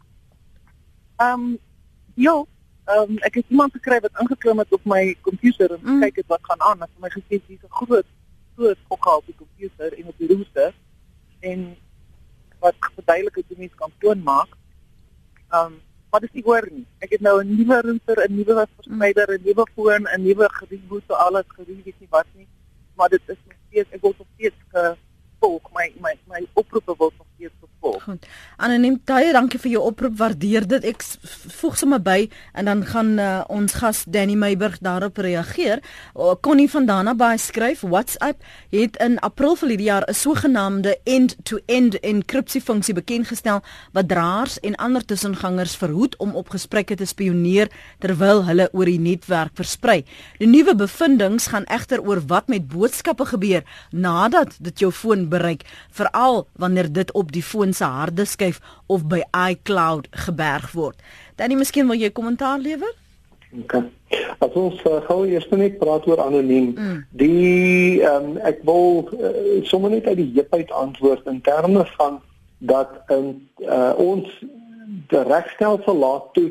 Ehm um, ja, ehm um, ek het iemand gekry wat ingeklim het op my komputer en Mm. kyk het wat gaan aan. Hy het vir my gesê dis 'n groot groot gokhaal op die komputer en op die router en wat verduidelik het hoe mens kan toon maak. Ehm um, maar dis nie hoor nie. Ek het nou 'n nuwe router, 'n nuwe verspreider, 'n nuwe foon, 'n nuwe gereboot, so alles gereboot, weet nie wat nie. Maar dit is nog steeds, ek word nog steeds gevolg. My my my oproepe word nog steeds gevolg. Goed. Anoniem, baie dankie vir jou oproep, waardeer dit. Ek s- voeg sommer by en dan gaan uh, ons gas Danny Meiburg daarop reageer. Uh, Connie van Danabaai skryf, WhatsApp het in April verlede jaar 'n sogenaamde end-to-end enkripsiefunksie bekendgestel wat draers en ander tussengangers verhoed om op gesprekke te spioneer terwyl hulle oor die netwerk versprei. Die nuwe bevindinge gaan egter oor wat met boodskappe gebeur nadat dit jou foon bereik, veral wanneer dit op die foon se harde skyf of by iCloud geberg word. Danny, miskien wil jy kommentaar lewer? Okay. As ons uh, gou eers net praat oor anoniem, Mm. die um, ek wil uh, sommer net uit die heup uit antwoord in terme van dat um, uh, ons die regstelsel laat toe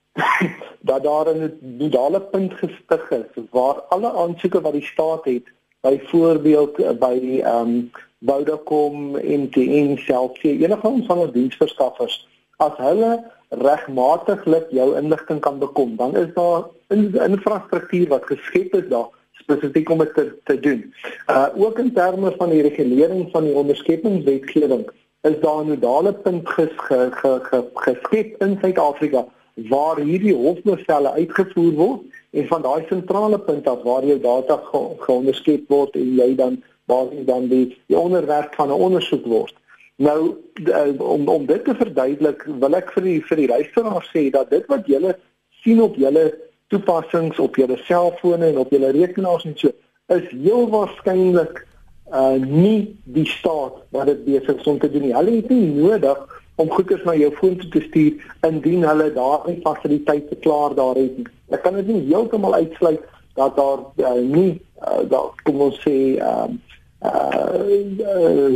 dat daar 'n nodale punt gestig is waar alle aansoeke wat die staat het, byvoorbeeld uh, by die um, Vodacom, M T N, Cell C, enige van ons diensverskaffers, as hulle regmatiglik jou inligting kan bekom, dan is daar 'n infrastruktuur wat geskep is daar spesifiek om dit te, te doen. Uh ook in terme van die regulering van die onderskeppingswetgewing is daar 'n nodale punt ges, ge, ge, ge, geskep in Suid-Afrika waar hierdie hofbevele uitgevoer word en van daai sentrale punt af waar jou data ge, geonderskep word en jy dan basies dan die, die onderwerp van 'n ondersoek word. Nou uh, om om dit te verduidelik, wil ek vir die vir die luisteraars sê dat dit wat julle sien op julle toepassings op julle selfone en op julle rekenaars en so is heel waarskynlik uh nie die staat wat dit besig is om te doen nie. Hulle het nie nodig om goeders na jou foon toe te stuur indien hulle daardie fasiliteite klaar daar het. Ek kan dit nie heeltemal uitsluit dat daar uh, nie uh, daar kom ons sê um, uh, uh,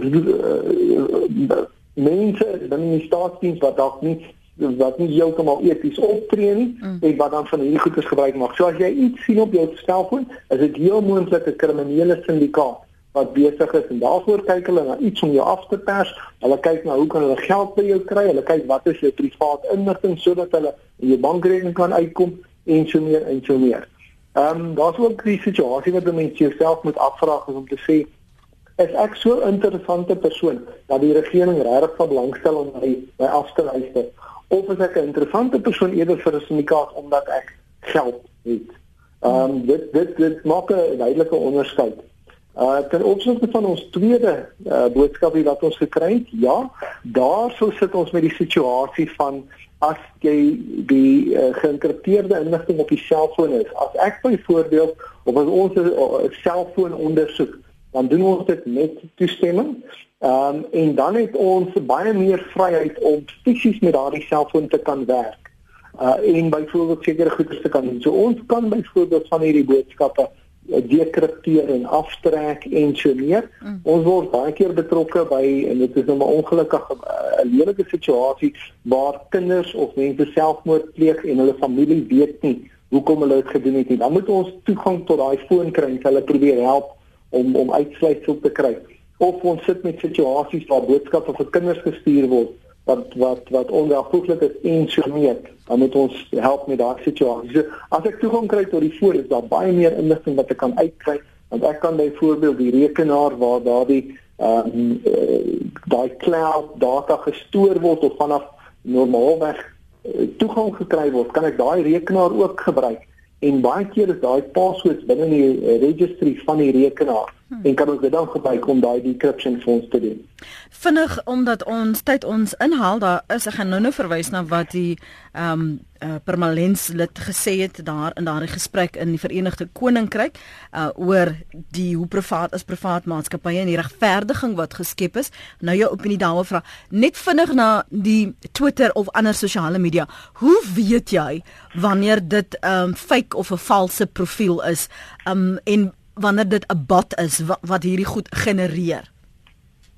uh, mense binne die staatsdiens wat dalk nie wat nie heeltemal eties optree nie mm. en wat dan van hierdie goeders gebruik maak. So as jy iets sien op jou selfoon, is dit heel moontlik 'n kriminele syndikaat wat besig is en daarvoor kyk hulle na iets om jou af te pers. Hulle kyk na hoe kan hulle geld by jou kry? Hulle kyk wat is jou privaat inligting sodat hulle in jou bankrekening kan uitkom en so meer en so meer. Ehm um, daar's ook die situasie wat mense jouself moet afvra om te sê, is ek so 'n interessante persoon dat die regering regtig van belangstel om my, my af te luister? Of is ek 'n interessante persoon eerder vir 'n syndikaat omdat ek geld het? Ehm um, dit dit dit maak 'n duidelike onderskeid. Uh ten opsigte van ons tweede uh, boodskap wat ons gekry het, ja, daarso sit ons met die situasie van as jy die uh, geïnkripteerde inligting op die selfoon is. As ek byvoorbeeld op ons 'n uh, selfoon ondersoek, dan doen ons dit met toestemming. Ehm um, en dan het ons baie meer vryheid om fisies met daardie selfoon te kan werk. Uh en byvoorbeeld sekere goeders te kan doen. So ons kan byvoorbeeld van hierdie boodskappe dekripteer en aftrek en so meer. Mm. Ons word baie keer betrokke by en dit is nou maar ongelukkig 'n lelike situasie waar kinders of mense selfmoord pleeg en hulle familie weet nie hoekom hulle dit gedoen het nie. Dan moet ons toegang tot daai foon kry en hulle probeer help om om uitsluitsel te kry. Of ons sit met situasies waar boodskappe vir kinders gestuur word wat wat wat onwelvoeglik is en so meer. Dan moet ons help met daardie situasie. So, as ek toegang kry tot die foon, is daar baie meer inligting wat ek kan uitkry, want ek kan byvoorbeeld die rekenaar waar daardie ehm um, uh, daai cloud data gestoor word of vanaf normaalweg uh, toegang gekry word, kan ek daai rekenaar ook gebruik. En baie keer is daai passwords binne die uh, registry van die rekenaar hmm. en kan ons dit dan gebruik om daai decryption vir ons te doen. Vinnig, omdat ons tyd ons inhaal, daar is, ek gaan nou nou verwys na wat die ehm um, uh, Permanents lid gesê het daar in daardie gesprek in die Verenigde Koninkryk uh, oor die hoe privaat is privaat maatskappye en die regverdiging wat geskep is. Nou jou opinie daaroor vra. Net vinnig na die Twitter of ander sosiale media. Hoe weet jy wanneer dit ehm um, fake of 'n valse profiel is um, en wanneer dit 'n bot is wat, wat hierdie goed genereer?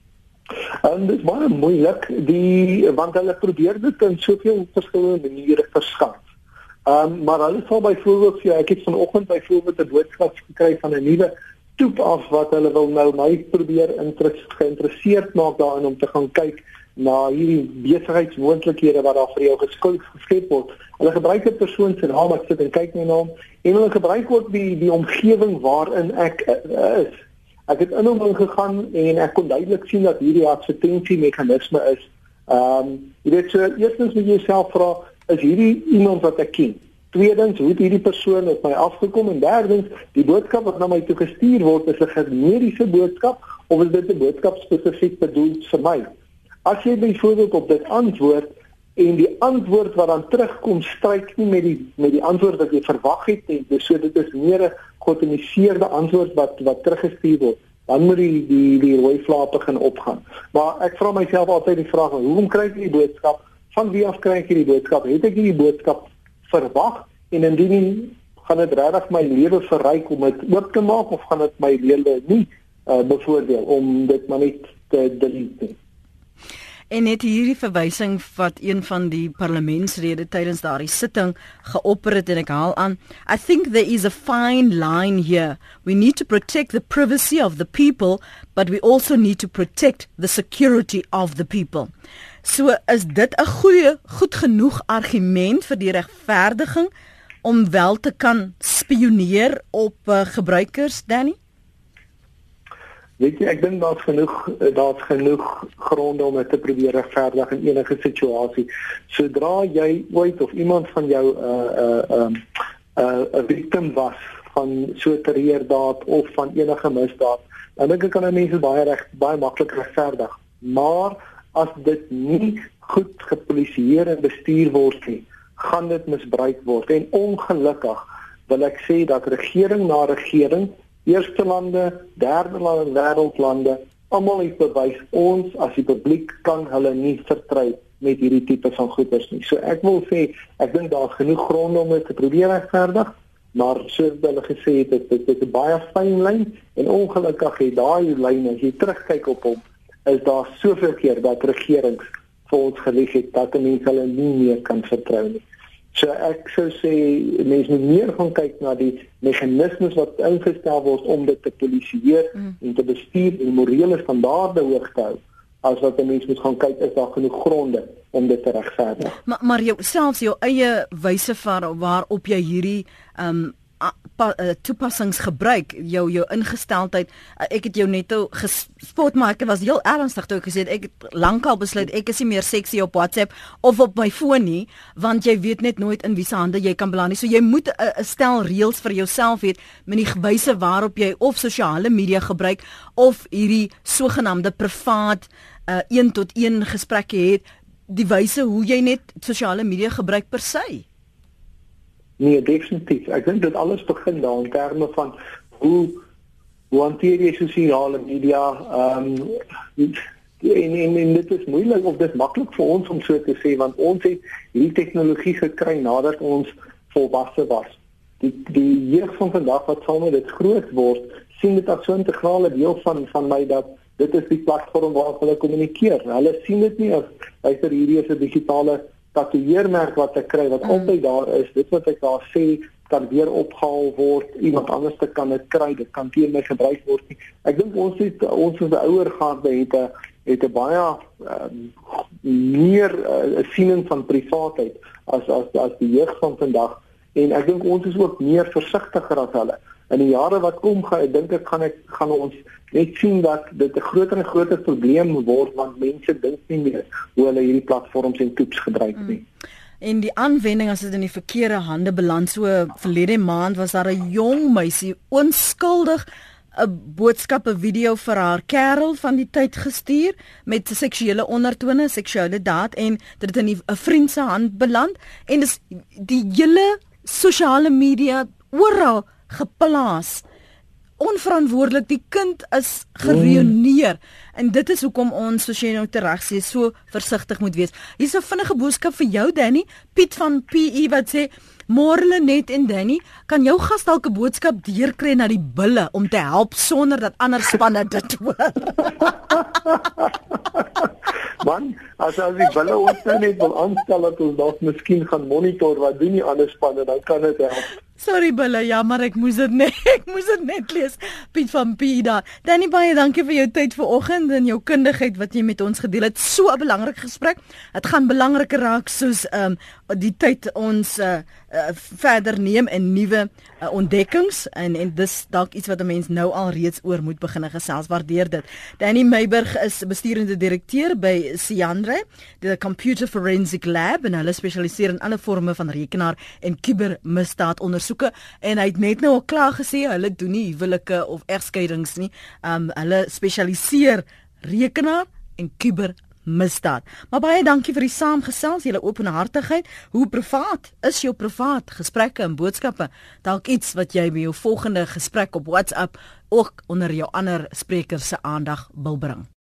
En dit is baie moeilik, die want hulle probeer dit in soveel verskillende maniere verskaf. Um, maar hulle sal byvoorbeeld, ja, ek het vanoggend byvoorbeeld 'n boodskap gekry van 'n nuwe toep af wat hulle wil nou my probeer geïnteresseerd maak daarin om te gaan kyk na hierdie besigheidsmoontlikhede wat daar vir jou geskep geskep word. Hulle gebruik 'n persoon se naam, ek sit en kyk na hom, en hulle gebruik ook die die omgewing waarin ek uh, is. Ek het in hom ingegaan en ek kon duidelik sien dat hierdie advertensiemeganisme is. Ehm, um, jy weet so, eerstens moet jy jouself vra, is hierdie iemand wat ek ken? Tweedens, hoe het hierdie persoon op my afgekom? En derdens, die boodskap wat na my toe gestuur word, is 'n generiese boodskap of is dit 'n boodskap spesifiek bedoel vir my? As jy byvoorbeeld op dit antwoord en die antwoord wat dan terugkom stryk nie met die met die antwoord wat jy verwag het nie, dus so dit is meer 'n geautomatiseerde antwoord wat wat teruggestuur word, dan moet die die die rooi vlak begin opgaan. Maar ek vra myself altyd die vraag, hoekom kry ek die boodskap? Van wie af kry ek die boodskap? Het ek die boodskap verwag en indien nie, gaan dit regtig my lewe verryk om dit oop te maak of gaan dit my lewe nie uh, bevoordeel om dit maar net te delete? En net hierdie verwysing wat een van die parlementsrede tydens daardie sitting geopper het en ek haal aan, I think there is a fine line here. We need to protect the privacy of the people, but we also need to protect the security of the people. So is dit 'n goeie, goed genoeg argument vir die regverdiging om wel te kan spioneer op uh, gebruikers, Danny? Weet jy, ek dink daar's genoeg daar's genoeg gronde om dit te probeer regverdig in enige situasie. Sodra jy ooit of iemand van jou 'n 'n 'n 'n victim was van so 'n terreurdaad of van enige misdaad, dan dink ek kan mense baie reg baie maklik regverdig. Maar as dit nie goed gepolisieer en bestuur word nie, gaan dit misbruik word. En ongelukkig wil ek sê dat regering na regering, eerste lande, derde lande, wêreldlande, almal het bewys ons as die publiek kan hulle nie vertrou met hierdie tipe van goeders nie. So ek wil sê, ek dink daar's genoeg gronde om dit te probeer regverdig, maar soos hulle gesê het, dit, dit is 'n baie fyn lyn en ongelukkig het daai lyn, as jy terugkyk op hom, is daar soveel keer dat regerings vir ons gelieg het dat mense hulle nie meer kan vertrou nie. So ek sou sê mense moet meer gaan kyk na die meganismes wat ingestel word om dit te polisieer mm. en te bestuur en morele standaarde hoog te hou, as wat 'n mens moet gaan kyk is daar genoeg gronde om dit te regverdig. Maar maar jou selfs jou eie wyse van waarop jy hierdie um Pa, uh, toepassings gebruik, jou jou ingesteldheid, uh, ek het jou net gespot, maar ek was heel ernstig toe ek gesê het, ek het lankal besluit, ek is nie meer seksie op WhatsApp of op my foon nie, want jy weet net nooit in wie se hande jy kan beland nie, so jy moet 'n uh, stel reëls vir jouself hê, met die wyse waarop jy of sosiale media gebruik, of hierdie sogenaamde privaat, uh, een tot een gesprekke het, die wyse hoe jy net sosiale media gebruik per se. Nee, definitief. Ek dink dit alles begin daar in terme van hoe hoe hanteer jy sosiale media, ehm um, en, en, en dit is moeilik of dit maklik vir ons om so te sê, want ons het hierdie tegnologie gekry nadat ons volwasse was. Die die jeug van vandag wat saam met dit groot word, sien dit as so 'n integrale deel van van my dat dit is die platform waarop hulle kommunikeer. Hulle sien dit nie as luister hierdie is 'n digitale tatoeëermerk wat ek kry wat mm. altyd daar is. Dit wat ek daar sê kan weer opgehaal word. Iemand anders te kan dit kry. Dit kan teen my gebruik word nie. Ek dink ons het ons as 'n ouer garde het 'n het 'n baie uh, meer 'n uh, siening van privaatheid as as as die jeug van vandag. En ek dink ons is ook meer versigtiger as hulle. In die jare wat kom, gaan ek dink ek gaan ek gaan ons net sien dat dit 'n groter en groter probleem word, want mense dink nie meer hoe hulle hierdie platforms en toeps gebruik nie. Mm. En die aanwending as dit in die verkeerde hande beland, so verlede maand was daar 'n jong meisie onskuldig 'n boodskap, 'n video vir haar kerel van die tyd gestuur met seksuele ondertone, seksuele daad, en dit het in 'n vriend se hand beland en dis die hele sosiale media oral geplaas. Onverantwoordelik, die kind is gereuneer mm. en dit is hoekom ons, soos jy nou tereg sê, so versigtig moet wees. Hier is 'n vinnige boodskap vir jou, Danny. Piet van P E wat sê, môre Lenet en Danny, kan jou gas dalk 'n boodskap deurkry na die bulle om te help sonder dat ander spanne dit hoor? as as die bulle ons nou net wil aanstel dat ons dalk miskien gaan monitor wat doen die ander spanne, dan kan dit help. Sorry Bulle, ja, maar ek moes dit net ek moes dit net lees. Piet van Pida. Danny, baie dankie vir jou tyd vanoggend en jou kundigheid wat jy met ons gedeel het. So 'n belangrike gesprek. Dit gaan belangriker raak soos ehm um, die tyd ons uh, uh, verder neem in nuwe uh, ontdekkings en en dis dalk iets wat 'n mens nou al reeds oor moet begin gesels. Waardeer dit. Danny Meiburg is besturende direkteur by Siandre, die Computer Forensic Lab, en hulle spesialiseer in alle forme van rekenaar en kubermisdaad ondersoeke, en hy het net nou al klaar gesê hulle doen nie huwelike of egskeidings nie. Um hulle spesialiseer rekenaar en kubermisdaad. Maar baie dankie vir die saamgesels, julle openhartigheid. Hoe privaat is jou privaat gesprekke en boodskappe? Dalk iets wat jy by jou volgende gesprek op WhatsApp ook onder jou ander sprekers se aandag wil bring.